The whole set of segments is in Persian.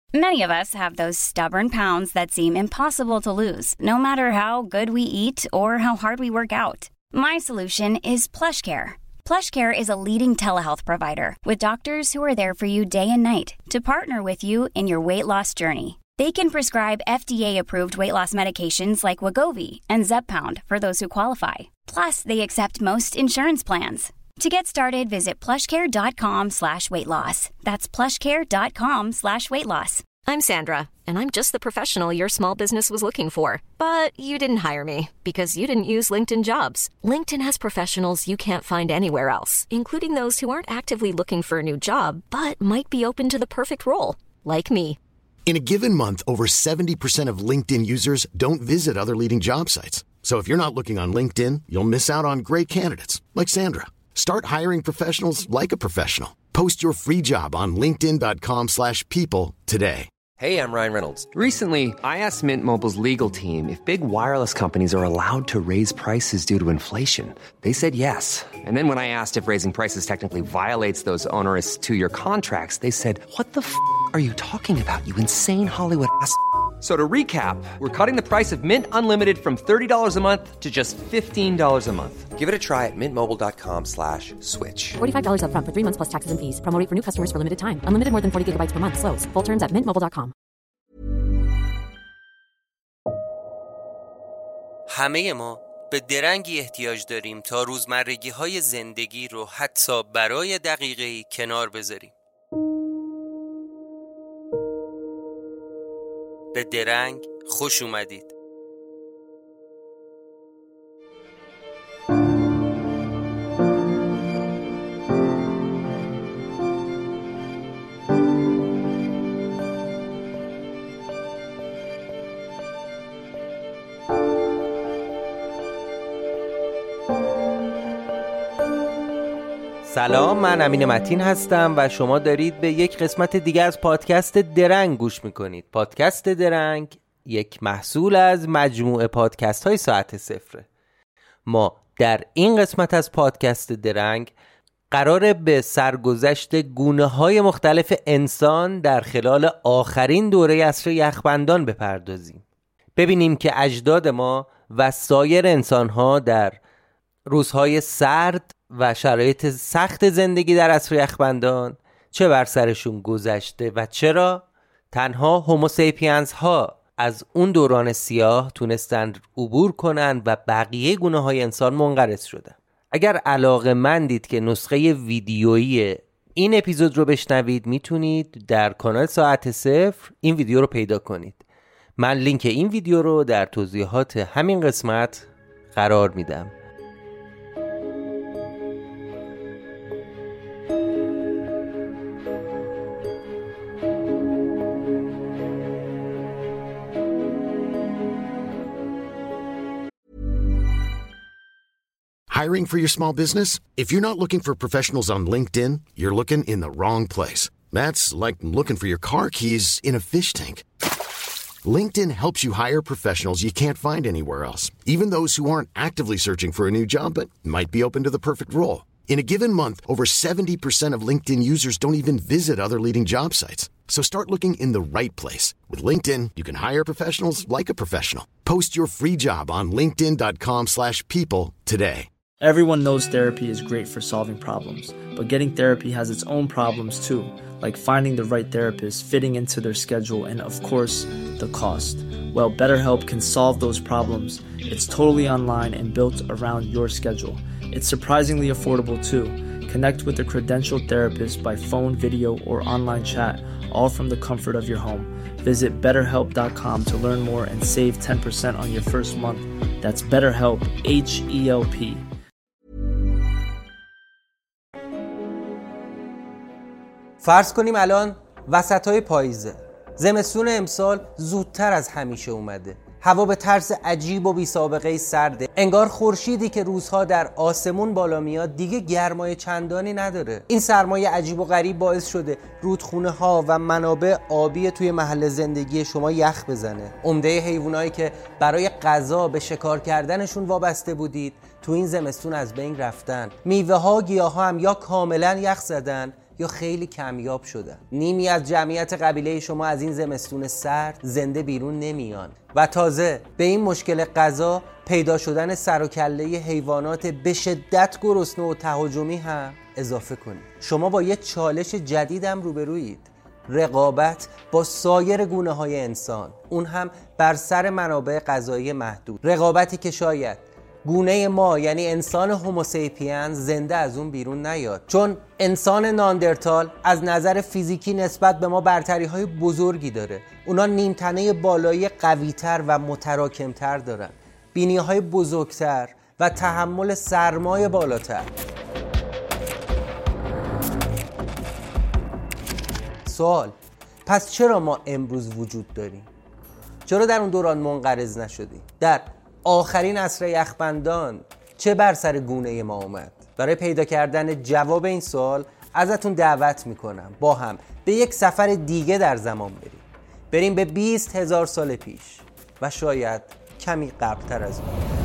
Many of us have those stubborn pounds that seem impossible to lose, no matter how good we eat or how hard we work out. My solution is PlushCare. PlushCare is a leading telehealth provider with doctors who are there for you day and night to partner with you in your weight loss journey. They can prescribe FDA-approved weight loss medications like Wegovy and Zepbound for those who qualify. Plus, they accept most insurance plans. To get started, visit plushcare.com/weightloss. That's plushcare.com/weightloss. I'm Sandra, and I'm just the professional your small business was looking for. But you didn't hire me because you didn't use LinkedIn Jobs. LinkedIn has professionals you can't find anywhere else, including those who aren't actively looking for a new job, but might be open to the perfect role, like me. In a given month, over 70% of LinkedIn users don't visit other leading job sites. So if you're not looking on LinkedIn, you'll miss out on great candidates like Sandra. Start hiring professionals like a professional. Post your free job on linkedin.com/people today. Hey, I'm Ryan Reynolds. Recently, I asked Mint Mobile's legal team if big wireless companies are allowed to raise prices due to inflation. They said yes. And then when I asked if raising prices technically violates those onerous two-year contracts, they said, "What the are you talking about, you insane Hollywood ass?" So to recap, we're cutting the price of Mint Unlimited from $30 a month to just $15 a month. Give it a try at mintmobile.com/switch. $45 up front for 3 months plus taxes and fees. Promo rate for new customers for limited time. Unlimited more than 40 gigabytes per month. Slows full terms at mintmobile.com. همه ما به درنگی احتیاج داریم تا روزمرگی‌های زندگی رو حتی برای دقیقه‌ای کنار بذاریم. به درنگ خوش اومدید. سلام، من امین متین هستم و شما دارید به یک قسمت دیگه از پادکست درنگ گوش میکنید. پادکست درنگ یک محصول از مجموعه پادکست های ساعت صفره. ما در این قسمت از پادکست درنگ قراره به سرگذشت گونه های مختلف انسان در خلال آخرین دوره عصر یخبندان بپردازیم. ببینیم که اجداد ما و سایر انسان ها در روزهای سرد و شرایط سخت زندگی در عصر یخبندان چه بر سرشون گذشته و چرا تنها هوموسیپینز ها از اون دوران سیاه تونستن عبور کنن و بقیه گونه های انسان منقرض شدن. اگر علاقه‌مندید که نسخه ویدیویی این اپیزود رو بشنوید، میتونید در کانال ساعت صفر این ویدیو رو پیدا کنید. من لینک این ویدیو رو در توضیحات همین قسمت قرار میدم. Hiring for your small business? If you're not looking for professionals on LinkedIn, you're looking in the wrong place. That's like looking for your car keys in a fish tank. LinkedIn helps you hire professionals you can't find anywhere else, even those who aren't actively searching for a new job but might be open to the perfect role. In a given month, over 70% of LinkedIn users don't even visit other leading job sites. So start looking in the right place. With LinkedIn, you can hire professionals like a professional. Post your free job on linkedin.com/people today. Everyone knows therapy is great for solving problems, but getting therapy has its own problems too, like finding the right therapist, fitting into their schedule, and of course, the cost. Well, BetterHelp can solve those problems. It's totally online and built around your schedule. It's surprisingly affordable too. Connect with a credentialed therapist by phone, video, or online chat, all from the comfort of your home. Visit BetterHelp.com to learn more and save 10% on your first month. That's BetterHelp, H-E-L-P. فرض کنیم الان وسطای پاییزه. زمستون امسال زودتر از همیشه اومده. هوا به طرز عجیب و بی سابقه سرده. انگار خورشیدی که روزها در آسمون بالا میاد دیگه گرمای چندانی نداره. این سرمایه عجیب و غریب باعث شده رودخونه ها و منابع آبی توی محل زندگی شما یخ بزنه. عمده حیوانایی که برای غذا به شکار کردنشون وابسته بودید تو این زمستون از بین رفتن. میوه ها، گیاه ها هم یا کاملا یخ زدن یا خیلی کمیاب شدن. نیمی از جمعیت قبیله شما از این زمستون سرد زنده بیرون نمیان و تازه به این مشکل غذا پیدا شدن سر و کله حیوانات به شدت گرسنه و تهاجمی هم اضافه کنید. شما با یه چالش جدیدم روبرویید: رقابت با سایر گونه‌های انسان، اون هم بر سر منابع غذایی محدود. رقابتی که شاید گونه ما یعنی انسان هوموسیپین زنده از اون بیرون نیاد، چون انسان ناندرتال از نظر فیزیکی نسبت به ما برتری‌های بزرگی داره. اونا نیمتنه بالایی قوی‌تر و متراکم‌تر دارن، بینی‌های بزرگتر و تحمل سرمای بالاتر. سوال: پس چرا ما امروز وجود داریم؟ چرا در اون دوران منقرض نشدیم؟ در آخرین عصر یخبندان چه بر سر گونه ما اومد؟ برای پیدا کردن جواب این سوال ازتون دعوت میکنم با هم به یک سفر دیگه در زمان بریم به 20,000 سال پیش و شاید کمی قبلتر از اون.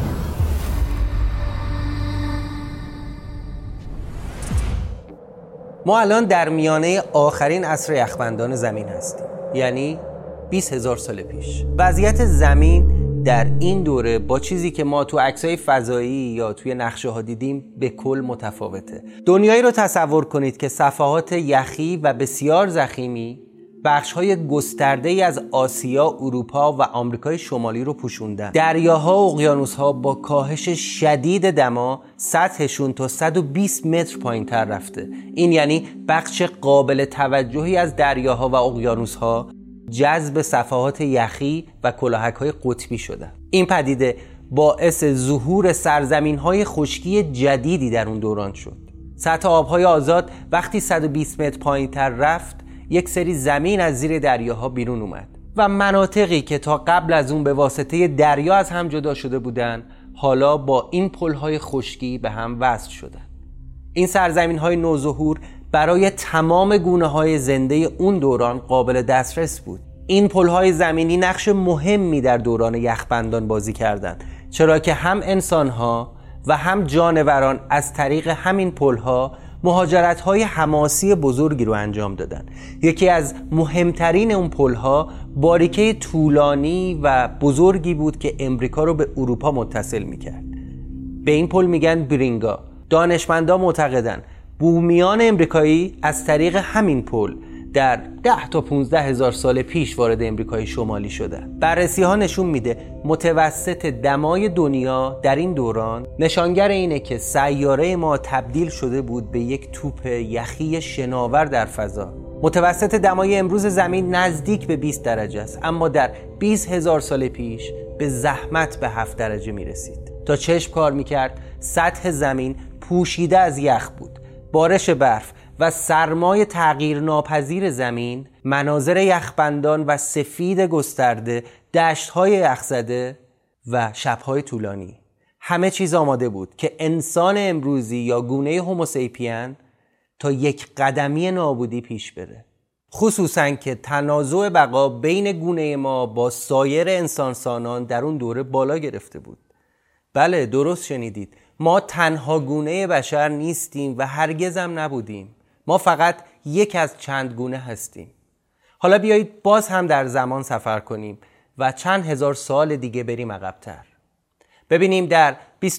ما الان در میانه آخرین عصر یخبندان زمین هستیم، یعنی 20,000 سال پیش. وضعیت زمین در این دوره با چیزی که ما تو عکسای فضایی یا توی نقشه ها دیدیم به کل متفاوته. دنیایی رو تصور کنید که صفحات یخی و بسیار ضخیمی بخش‌های گسترده‌ای از آسیا، اروپا و آمریکای شمالی رو پوشوندن. دریاها و اقیانوس‌ها با کاهش شدید دما سطحشون تا 120 متر پایین‌تر رفته. این یعنی بخش قابل توجهی از دریاها و اقیانوس‌ها جذب صفحات یخی و کلاهک‌های قطبی شدن. این پدیده باعث ظهور سرزمین‌های خشکی جدیدی در اون دوران شد. سطح آب‌های آزاد وقتی 120 متر پایین‌تر رفت، یک سری زمین از زیر دریاها بیرون اومد و مناطقی که تا قبل از اون به واسطه دریا از هم جدا شده بودن حالا با این پل‌های خشکی به هم وصل شدن. این سرزمین‌های نوظهور برای تمام گونه‌های زنده اون دوران قابل دسترس بود. این پل‌های زمینی نقش مهمی در دوران یخبندان بازی کردند، چرا که هم انسان‌ها و هم جانوران از طریق همین پل‌ها مهاجرت‌های حماسی بزرگی رو انجام دادن. یکی از مهمترین اون پل‌ها باریکه طولانی و بزرگی بود که امریکا رو به اروپا متصل می‌کرد. به این پل میگن برینگا. دانشمندان معتقدن بومیان امریکایی از طریق همین پل در 10 تا 15,000 سال پیش وارد امریکای شمالی شدن. بررسی ها نشون میده متوسط دمای دنیا در این دوران نشانگر اینه که سیاره ما تبدیل شده بود به یک توپ یخی شناور در فضا. متوسط دمای امروز زمین نزدیک به 20 درجه است، اما در 20,000 سال پیش به زحمت به 7 درجه میرسید. تا چشم کار میکرد سطح زمین پوشیده از یخ بود. بارش برف و سرمای تغییر ناپذیر زمین، مناظر یخبندان و سفید گسترده، دشت‌های یخزده و شب‌های طولانی، همه چیز آماده بود که انسان امروزی یا گونه هوموسیپین تا یک قدمی نابودی پیش بره. خصوصاً که تنازع بقا بین گونه ما با سایر انسانسانان در اون دوره بالا گرفته بود. بله، درست شنیدید، ما تنها گونه بشر نیستیم و هرگز هم نبودیم. ما فقط یک از چند گونه هستیم. حالا بیایید باز هم در زمان سفر کنیم و چند هزار سال دیگه بریم عقب‌تر. ببینیم در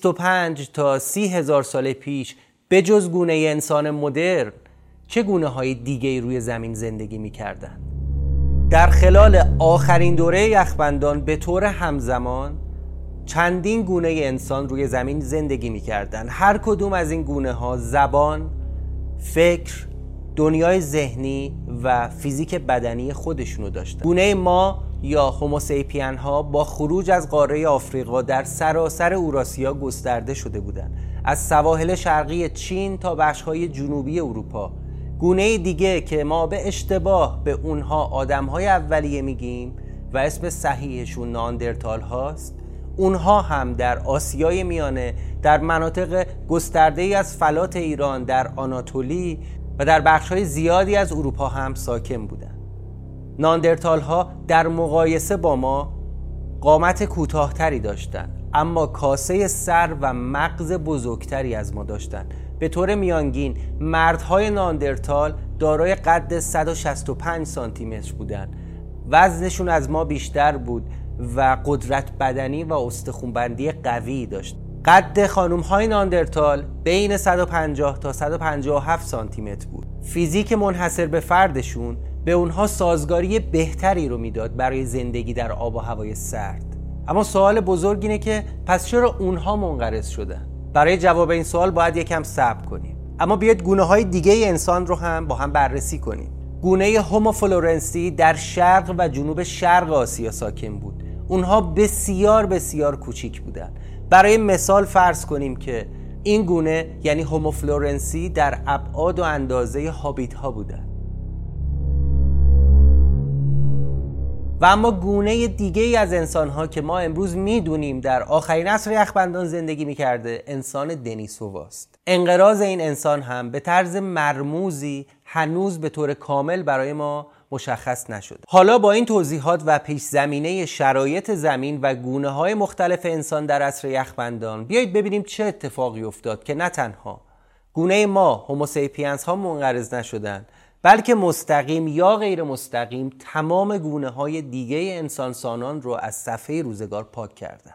25 تا 30,000 سال پیش به جز گونه انسان مدرن چه گونه های دیگه روی زمین زندگی می کردن. در خلال آخرین دوره یخبندان به طور همزمان چندین گونه انسان روی زمین زندگی می کردن. هر کدوم از این گونه ها زبان، فکر، دنیای ذهنی و فیزیک بدنی خودشونو داشتن. گونه ما یا هوموسیپین ها با خروج از قاره آفریقا در سراسر اوراسیا گسترده شده بودند، از سواحل شرقی چین تا بخش‌های جنوبی اروپا. گونه دیگه که ما به اشتباه به اونها آدم‌های اولیه میگیم و اسم صحیحشون ناندرتال هاست، اونها هم در آسیای میانه، در مناطق گسترده‌ای از فلات ایران، در آناتولی و در بخش‌های زیادی از اروپا هم ساکن بودند. ناندرتال ها در مقایسه با ما قامت کوتاه‌تری داشتند، اما کاسه سر و مغز بزرگتری از ما داشتند. به طور میانگین مردهای ناندرتال دارای قد 165 سانتی متر بودن. وزنشون از ما بیشتر بود و قدرت بدنی و استخوان‌بندی قوی داشت. قد خانم‌های ناندرتال بین 150 تا 157 سانتی متر بود. فیزیک منحصر به فردشون به اونها سازگاری بهتری رو میداد برای زندگی در آب و هوای سرد. اما سوال بزرگ اینه که پس چرا اونها منقرض شدن؟ برای جواب این سوال باید یکم صبر کنیم. اما بیاید گونه‌های دیگه انسان رو هم با هم بررسی کنیم. گونه هومو فلورنسی در شرق و جنوب شرق آسیا ساکن بود. اونها بسیار بسیار کوچیک بودن. برای مثال فرض کنیم که این گونه یعنی هومو فلورنسی در ابعاد و اندازه هابیت ها بودن. و اما گونه دیگه ای از انسان ها که ما امروز میدونیم در آخرین عصر یخبندان زندگی میکرده انسان دنیسوواست. انقراض این انسان هم به طرز مرموزی هنوز به طور کامل برای ما مشخص نشد. حالا با این توضیحات و پیش زمینه شرایط زمین و گونه‌های مختلف انسان در عصر یخبندان بیایید ببینیم چه اتفاقی افتاد که نه تنها گونه ما هوموسیپینز ها منقرض نشدند، بلکه مستقیم یا غیر مستقیم تمام گونه‌های دیگه انسان سانان رو از صفحه روزگار پاک کردند.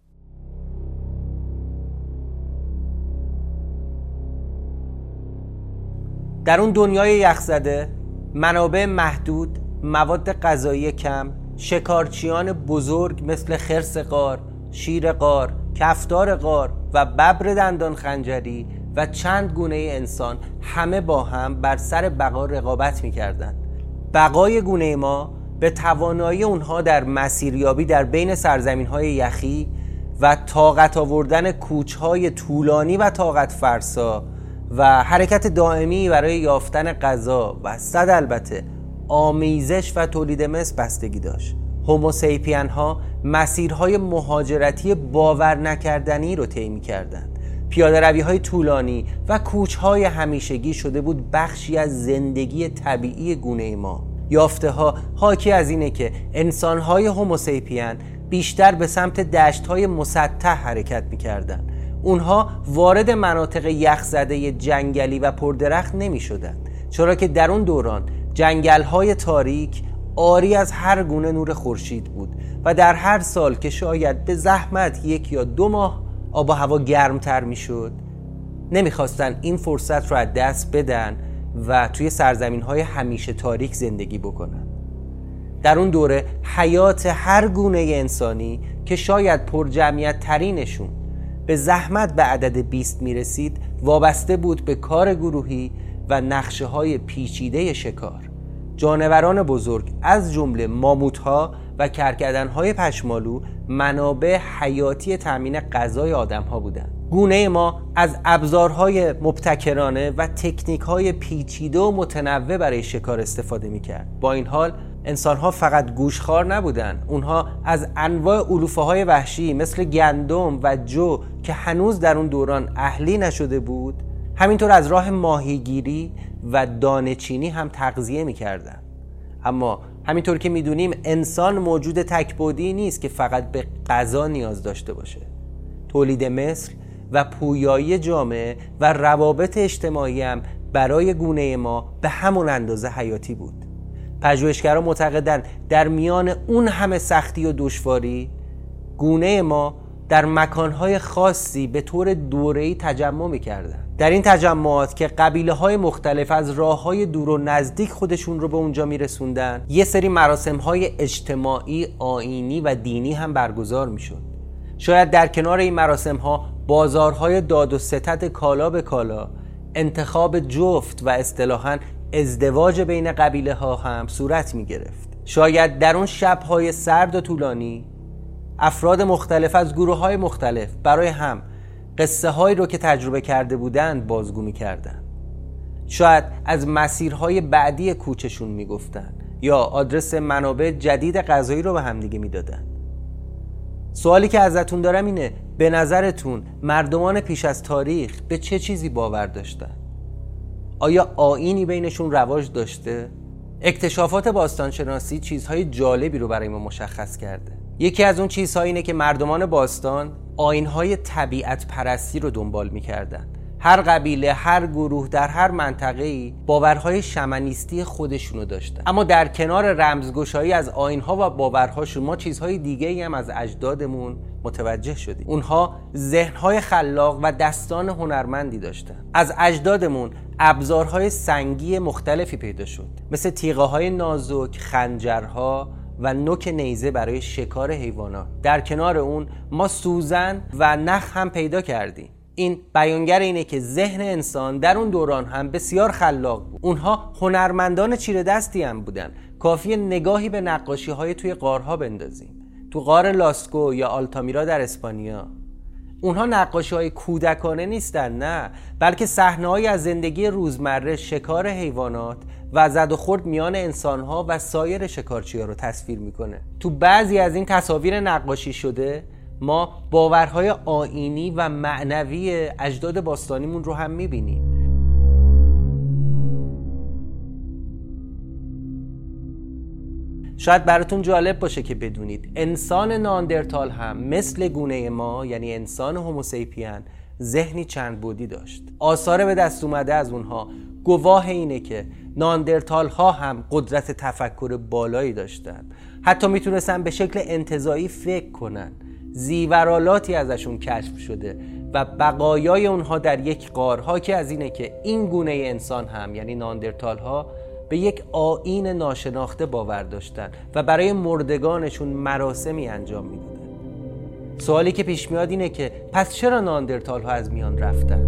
در اون دنیای یخزده منابع محدود، مواد غذایی کم، شکارچیان بزرگ مثل خرس غار، شیر غار، کفتار غار و ببر دندان خنجری و چند گونه انسان همه با هم بر سر بقا رقابت می‌کردند. بقای گونه ما به توانایی اونها در مسیریابی در بین سرزمین‌های یخی و طاقت آوردن کوچ‌های طولانی و طاقت فرسا و حرکت دائمی برای یافتن غذا و صد البته آمیزش و تولید مثل بستگی داشت. هوموسیپین ها مسیرهای مهاجرتی باور نکردنی رو طی می‌کردند. پیاده روی های طولانی و کوچ‌های همیشگی شده بود بخشی از زندگی طبیعی گونه ما. یافته ها حاکی از اینه که انسان‌های هوموسیپین بیشتر به سمت دشت‌های مسطح حرکت می‌کردند. اونها وارد مناطق یخزده جنگلی و پردرخت نمی شدن، چرا که در اون دوران جنگل‌های تاریک عاری از هر گونه نور خورشید بود و در هر سال که شاید به زحمت 1 یا 2 ماه آب و هوا گرمتر می شد نمیخواستن این فرصت رو از دست بدن و توی سرزمین‌های همیشه تاریک زندگی بکنن. در اون دوره حیات هر گونه انسانی که شاید پرجمعیت ترینشون به زحمت به عدد 20 میرسید وابسته بود به کار گروهی و نقشه های پیچیده شکار. جانوران بزرگ از جمله ماموت‌ها و کرکدن‌های پشمالو منابع حیاتی تامین غذای آدم‌ها بودند. گونه ما از ابزارهای مبتکرانه و تکنیک‌های پیچیده و متنوع برای شکار استفاده می‌کرد. با این حال انسان‌ها فقط گوشخوار نبودند. اونها از انواع علوفه‌های وحشی مثل گندم و جو که هنوز در اون دوران اهلی نشده بود، همینطور از راه ماهیگیری و دانه‌چینی هم تغذیه می‌کردند. اما همینطور که می‌دونیم انسان موجود تک‌بعدی نیست که فقط به غذا نیاز داشته باشه. تولید مثل و پویایی جامعه و روابط اجتماعی هم برای گونه ما به همون اندازه حیاتی بود. پژوهشگران معتقدند در میان اون همه سختی و دشواری گونه ما در مکانهای خاصی به طور دوره‌ای تجمع می‌کردند. در این تجمعات که قبیله‌های مختلف از راه‌های دور و نزدیک خودشون رو به اونجا می‌رسوندن، یه سری مراسم‌های اجتماعی، آیینی و دینی هم برگزار می‌شد. شاید در کنار این مراسم‌ها بازارهای داد و ستد کالا به کالا، انتخاب جفت و اصطلاحاً ازدواج بین قبیله‌ها هم صورت می‌گرفت. شاید در اون شب‌های سرد و طولانی افراد مختلف از گروه‌های مختلف برای هم قصه هایی رو که تجربه کرده بودند بازگو می‌کردند. شاید از مسیرهای بعدی کوچشون می‌گفتن یا آدرس منابع جدید غذایی رو به هم دیگه می‌دادن. سوالی که ازتون دارم اینه، به نظرتون مردمان پیش از تاریخ به چه چیزی باور داشتن؟ آیا آیینی بینشون رواج داشته؟ اکتشافات باستانشناسی چیزهای جالبی رو برای ما مشخص کرده. یکی از اون چیزها اینه که مردمان باستان آیین‌های طبیعت پرستی رو دنبال می‌کردن. هر قبیله، هر گروه در هر منطقه‌ای باورهای شمنیستی خودشونو داشتن. اما در کنار رمزگشایی از آیین‌ها و باورهاشون ما چیزهای دیگه‌ای هم از اجدادمون متوجه شدیم. اونها ذهن‌های خلاق و دستان هنرمندی داشتن. از اجدادمون ابزارهای سنگی مختلفی پیدا شد، مثل تیغه‌های نازک، خنجرها و نوک نیزه برای شکار حیوانات. در کنار اون ما سوزن و نخ هم پیدا کردیم. این بیانگر اینه که ذهن انسان در اون دوران هم بسیار خلاق بود. اونها هنرمندان چیره دستی هم بودن. کافیه نگاهی به نقاشی‌های توی غارها بندازیم. تو غار لاسکو یا آلتامیرا در اسپانیا. اونها نقاشی‌های کودکانه نیستن، نه، بلکه صحنه‌هایی از زندگی روزمره، شکار حیوانات و زد و خورد میان انسان‌ها و سایر شکارچی‌ها رو تصویر میکنه. تو بعضی از این تصاویر نقاشی شده ما باورهای آیینی و معنوی اجداد باستانیمون رو هم میبینیم. شاید براتون جالب باشه که بدونید انسان ناندرتال هم مثل گونه ما، یعنی انسان هوموسیپین، ذهنی چند بعدی داشت. آثار به دست اومده از اونها گواه اینه که ناندرتال ها هم قدرت تفکر بالایی داشتن. حتی میتونستن به شکل انتزاعی فکر کنن. زیورالاتی ازشون کشف شده و بقایای اونها در یک غار حاکی از اینه که این گونه انسان هم، یعنی ناندرتال ها، به یک آیین ناشناخته باور داشتن و برای مردگانشون مراسمی انجام میدادن. سوالی که پیش میاد اینه که پس چرا ناندرتال ها از میان رفتن؟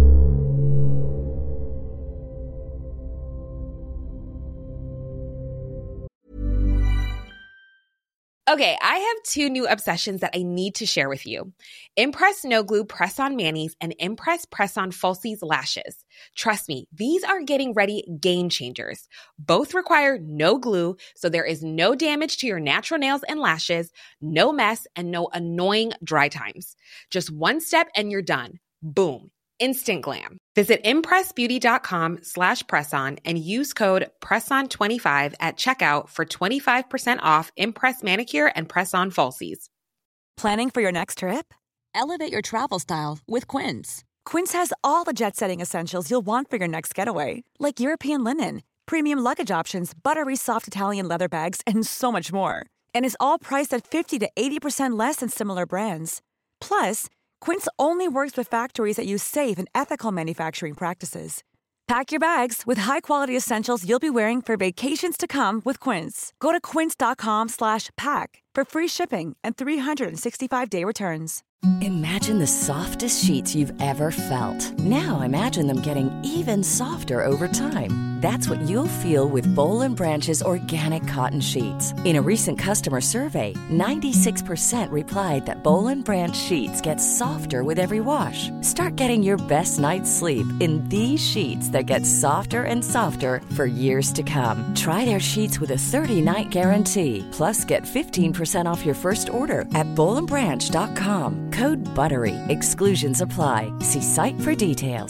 Okay, I have two new obsessions that I need to share with you. Impress No Glue Press-On Manis and Impress Press-On Falsies Lashes. Trust me, these are getting ready game changers. Both require no glue, so there is no damage to your natural nails and lashes, no mess, and no annoying dry times. Just one step and you're done. Boom. Instant glam. Visit impressbeauty.com/presson and use code PRESSON25 at checkout for 25% off Impress Manicure and Press-On Falsies. Planning for your next trip? Elevate your travel style with Quince. Quince has all the jet-setting essentials you'll want for your next getaway, like European linen, premium luggage options, buttery soft Italian leather bags, and so much more. And is all priced at 50 to 80% less than similar brands. Plus, Quince only works with factories that use safe and ethical manufacturing practices. Pack your bags with high-quality essentials you'll be wearing for vacations to come with Quince. Go to quince.com/pack for free shipping and 365-day returns. Imagine the softest sheets you've ever felt. Now imagine them getting even softer over time. That's what you'll feel with Boll & Branch's organic cotton sheets. In a recent customer survey, 96% replied that Boll & Branch sheets get softer with every wash. Start getting your best night's sleep in these sheets that get softer and softer for years to come. Try their sheets with a 30-night guarantee. Plus, get 15% off your first order at bollandbranch.com. Code BUTTERY. Exclusions apply. See site for details.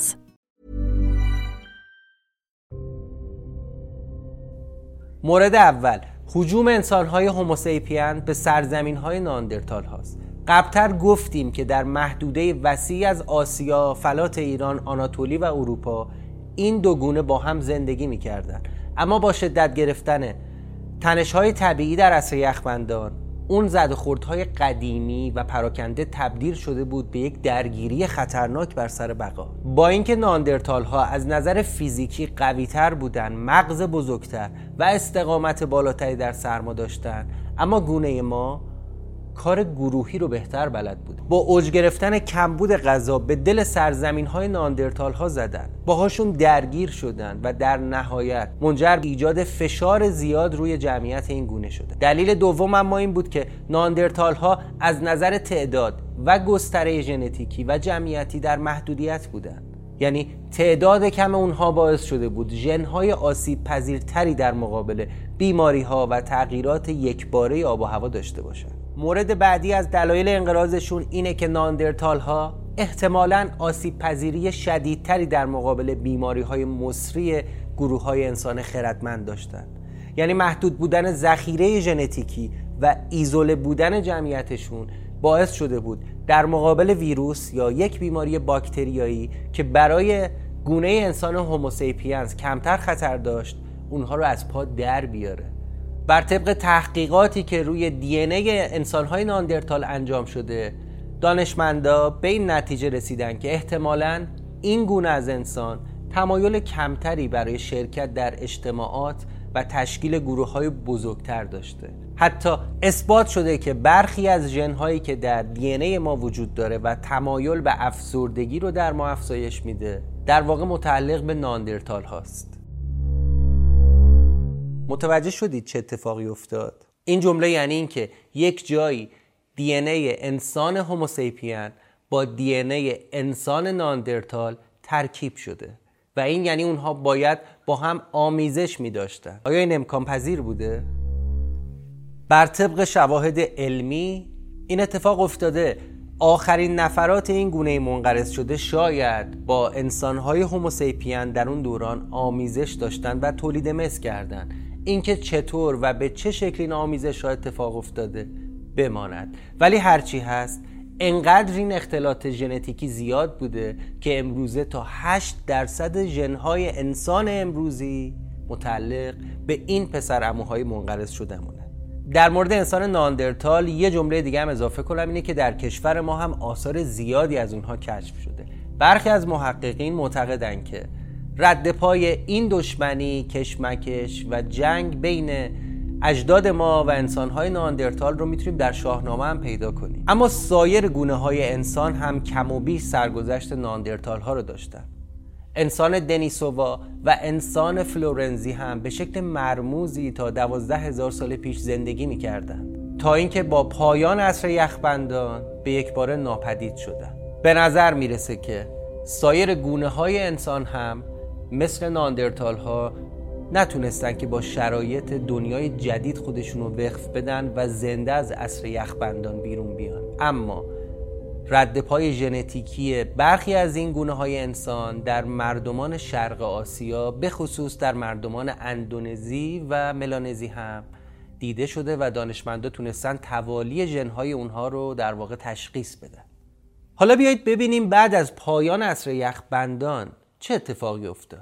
مورد اول، هجوم انسان‌های هوموسیپین به سرزمین‌های ناندرتال هاست. قبلتر گفتیم که در محدوده وسیعی از آسیا، فلات ایران، آناتولی و اروپا این دو گونه با هم زندگی می‌کردند. اما با شدت گرفتن تنش‌های طبیعی در عصر یخبندان، اون زد و خوردهای قدیمی و پراکنده تبدیل شده بود به یک درگیری خطرناک بر سر بقا. با اینکه ناندرتال ها از نظر فیزیکی قوی‌تر بودن، مغز بزرگتر و استقامت بالاتری در سرما داشتن، اما گونه ما کار گروهی رو بهتر بلد بود. با اوج گرفتن کمبود غذا به دل سرزمین‌های ناندرتال ها زدن، باهاشون درگیر شدن و در نهایت منجر به ایجاد فشار زیاد روی جمعیت این گونه شده. دلیل دوم اما این بود که ناندرتال ها از نظر تعداد و گستره ژنتیکی و جمعیتی در محدودیت بودن. یعنی تعداد کم اونها باعث شده بود ژن‌های آسیب پذیرتری در مقابل بیماری‌ها و تغییرات یکباره آب و هوا داشته باشن. مورد بعدی از دلایل انقراضشون اینه که ناندرتال ها احتمالاً آسیب پذیری شدیدتری در مقابل بیماری‌های مصری گروه‌های انسان خردمند داشتن. یعنی محدود بودن ذخیره ژنتیکی و ایزوله بودن جمعیتشون باعث شده بود در مقابل ویروس یا یک بیماری باکتریایی که برای گونه انسان هوموسیپینز کمتر خطر داشت اونها رو از پا در بیاره. بر طبق تحقیقاتی که روی دی ان ای انسان‌های ناندرتال انجام شده، دانشمندا به این نتیجه رسیدن که احتمالاً این گونه از انسان تمایل کمتری برای شرکت در اجتماعات و تشکیل گروه‌های بزرگتر داشته. حتی اثبات شده که برخی از ژن‌هایی که در دی ان ای ما وجود داره و تمایل به افسردگی رو در ما افزایش میده، در واقع متعلق به ناندرتال هاست. متوجه شدید چه اتفاقی افتاد؟ این جمله یعنی این که یک جایی دی ان ای انسان هوموسیپین با دی ان ای انسان ناندرتال ترکیب شده و این یعنی اونها باید با هم آمیزش می داشتن. آیا این امکان پذیر بوده؟ بر طبق شواهد علمی این اتفاق افتاده. آخرین نفرات این گونه منقرض شده شاید با انسان‌های هوموسیپین در اون دوران آمیزش داشتن و تولید مثل کردن. اینکه چطور و به چه شکلی این آمیزش ها اتفاق افتاده بماند، ولی هرچی هست انقدر این اختلالات ژنتیکی زیاد بوده که امروزه تا 8% ژن‌های انسان امروزی متعلق به این پسرعموهای منقرض شده‌مونه. در مورد انسان ناندرتال یه جمله دیگه هم اضافه کنم، اینه که در کشور ما هم آثار زیادی از اونها کشف شده. برخی از محققین معتقدن که رد پای این دشمنی، کشمکش و جنگ بین اجداد ما و انسان‌های ناندرتال رو میتونیم در شاهنامه هم پیدا کنیم. اما سایر گونه‌های انسان هم کم و بیش سرگذشت ناندرتال ها رو داشتن. انسان دنیسووا و انسان فلورنزی هم به شکل مرموزی تا 12,000 سال پیش زندگی می‌کردند تا اینکه با پایان عصر یخبندان به یک باره ناپدید شدند. به نظر میرسه که سایر گونه‌های انسان هم مثل ناندرتال ها نتونستن که با شرایط دنیای جدید خودشون رو وقف بدن و زنده از عصر یخبندان بیرون بیان. اما رد پای ژنتیکی برخی از این گونه‌های انسان در مردمان شرق آسیا، به خصوص در مردمان اندونزی و ملانزی هم دیده شده و دانشمندا تونستن توالی ژن‌های اونها رو در واقع تشخیص بدن. حالا بیایید ببینیم بعد از پایان عصر یخبندان چه اتفاقی افتاد.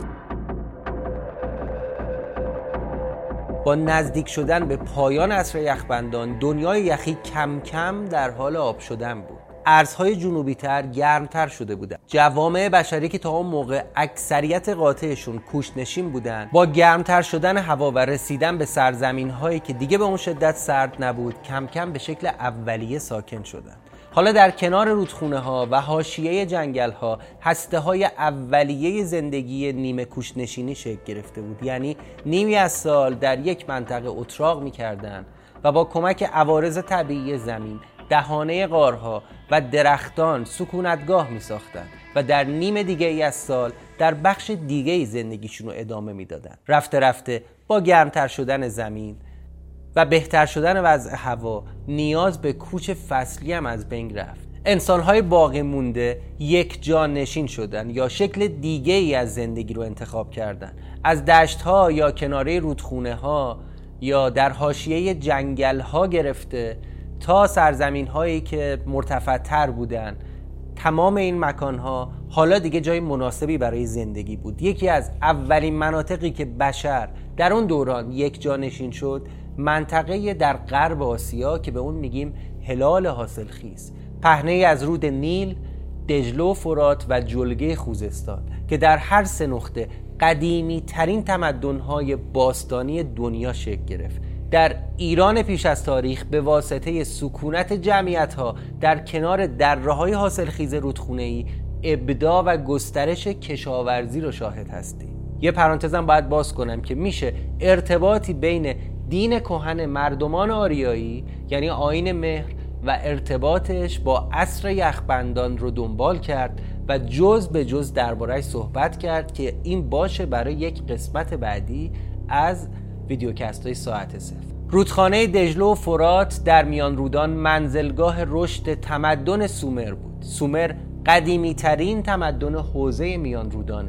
با نزدیک شدن به پایان عصر یخبندان، دنیای یخی کم کم در حال آب شدن بود. ارزهای جنوبی تر گرمتر شده بودند. جوامع بشری که تا اون موقع اکثریت قاطعشون کوچ‌نشین بودند، با گرمتر شدن هوا و رسیدن به سرزمین‌هایی که دیگه به اون شدت سرد نبود، کم کم به شکل اولیه ساکن شدند. حالا در کنار رودخونه‌ها و حاشیه جنگل‌ها هسته‌های اولیه زندگی نیمه کوچ‌نشینی شکل گرفته بود. یعنی نیمی از سال در یک منطقه اتراق می‌کردند و با کمک عوارض طبیعی زمین، دهانه غارها و درختان سکونتگاه می‌ساختند و در نیم دیگه ای از سال در بخش دیگه ای زندگیشون رو ادامه می‌دادند. رفته رفته با گرمتر شدن زمین و بهتر شدن وضع هوا، نیاز به کوچ فصلی هم از بین رفت. انسان‌های باقی مونده یک جا نشین شدن یا شکل دیگه ای از زندگی رو انتخاب کردن. از دشت‌ها یا کناره رودخونه‌ها یا در حاشیه جنگل‌ها گرفته تا سرزمین‌هایی که مرتفع‌تر بودن، تمام این مکان‌ها حالا دیگه جای مناسبی برای زندگی بود. یکی از اولین مناطقی که بشر در اون دوران یک جا نشین شد، منطقه در غرب آسیا که به اون میگیم هلال حاصلخیز، پهنه‌ای از رود نیل، دجله و فرات و جلگه خوزستان که در هر سه نقطه قدیمی ترین تمدن‌های باستانی دنیا شکل گرفت. در ایران پیش از تاریخ به واسطه سکونت جمعیت‌ها در کنار دره‌های حاصلخیز رودخونه‌ای، ابداع و گسترش کشاورزی رو شاهد هستیم. یه پرانتزم باید باز کنم که میشه ارتباطی بین دین کهن مردمان آریایی یعنی آیین مهر و ارتباطش با عصر یخبندان رو دنبال کرد و جز به جز درباره‌اش صحبت کرد که این باشه برای یک قسمت بعدی از ویدیوکست‌های ساعت صفر. رودخانه دجله و فرات در میان رودان منزلگاه رشد تمدن سومر بود. سومر قدیمی ترین تمدن حوزه میان رودانه.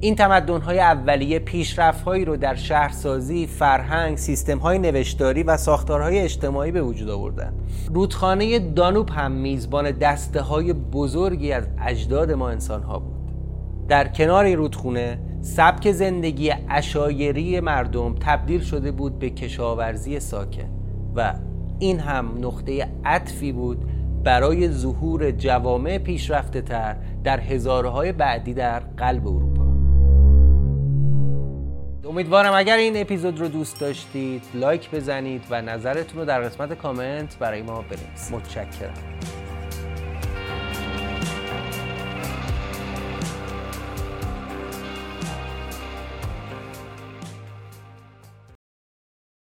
این تمدن‌های اولیه پیشرفت‌هایی رو در شهرسازی، فرهنگ، سیستم‌های نوشتاری و ساختارهای اجتماعی به وجود آوردن. رودخانه دانوب هم میزبان دسته‌های بزرگی از اجداد ما انسان‌ها بود. در کنار این رودخانه سبک زندگی عشایری مردم تبدیل شده بود به کشاورزی ساکن و این هم نقطه عطفی بود برای ظهور جوامع پیشرفته‌تر در هزاره‌های بعدی در قلب اروپا. امیدوارم اگر این اپیزود رو دوست داشتید لایک بزنید و نظرتون رو در قسمت کامنت برای ما بنویسید. متشکرم.